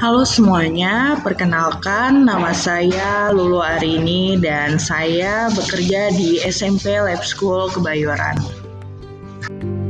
Halo semuanya, perkenalkan nama saya Lulu Arini dan saya bekerja di SMP Lab School Kebayoran.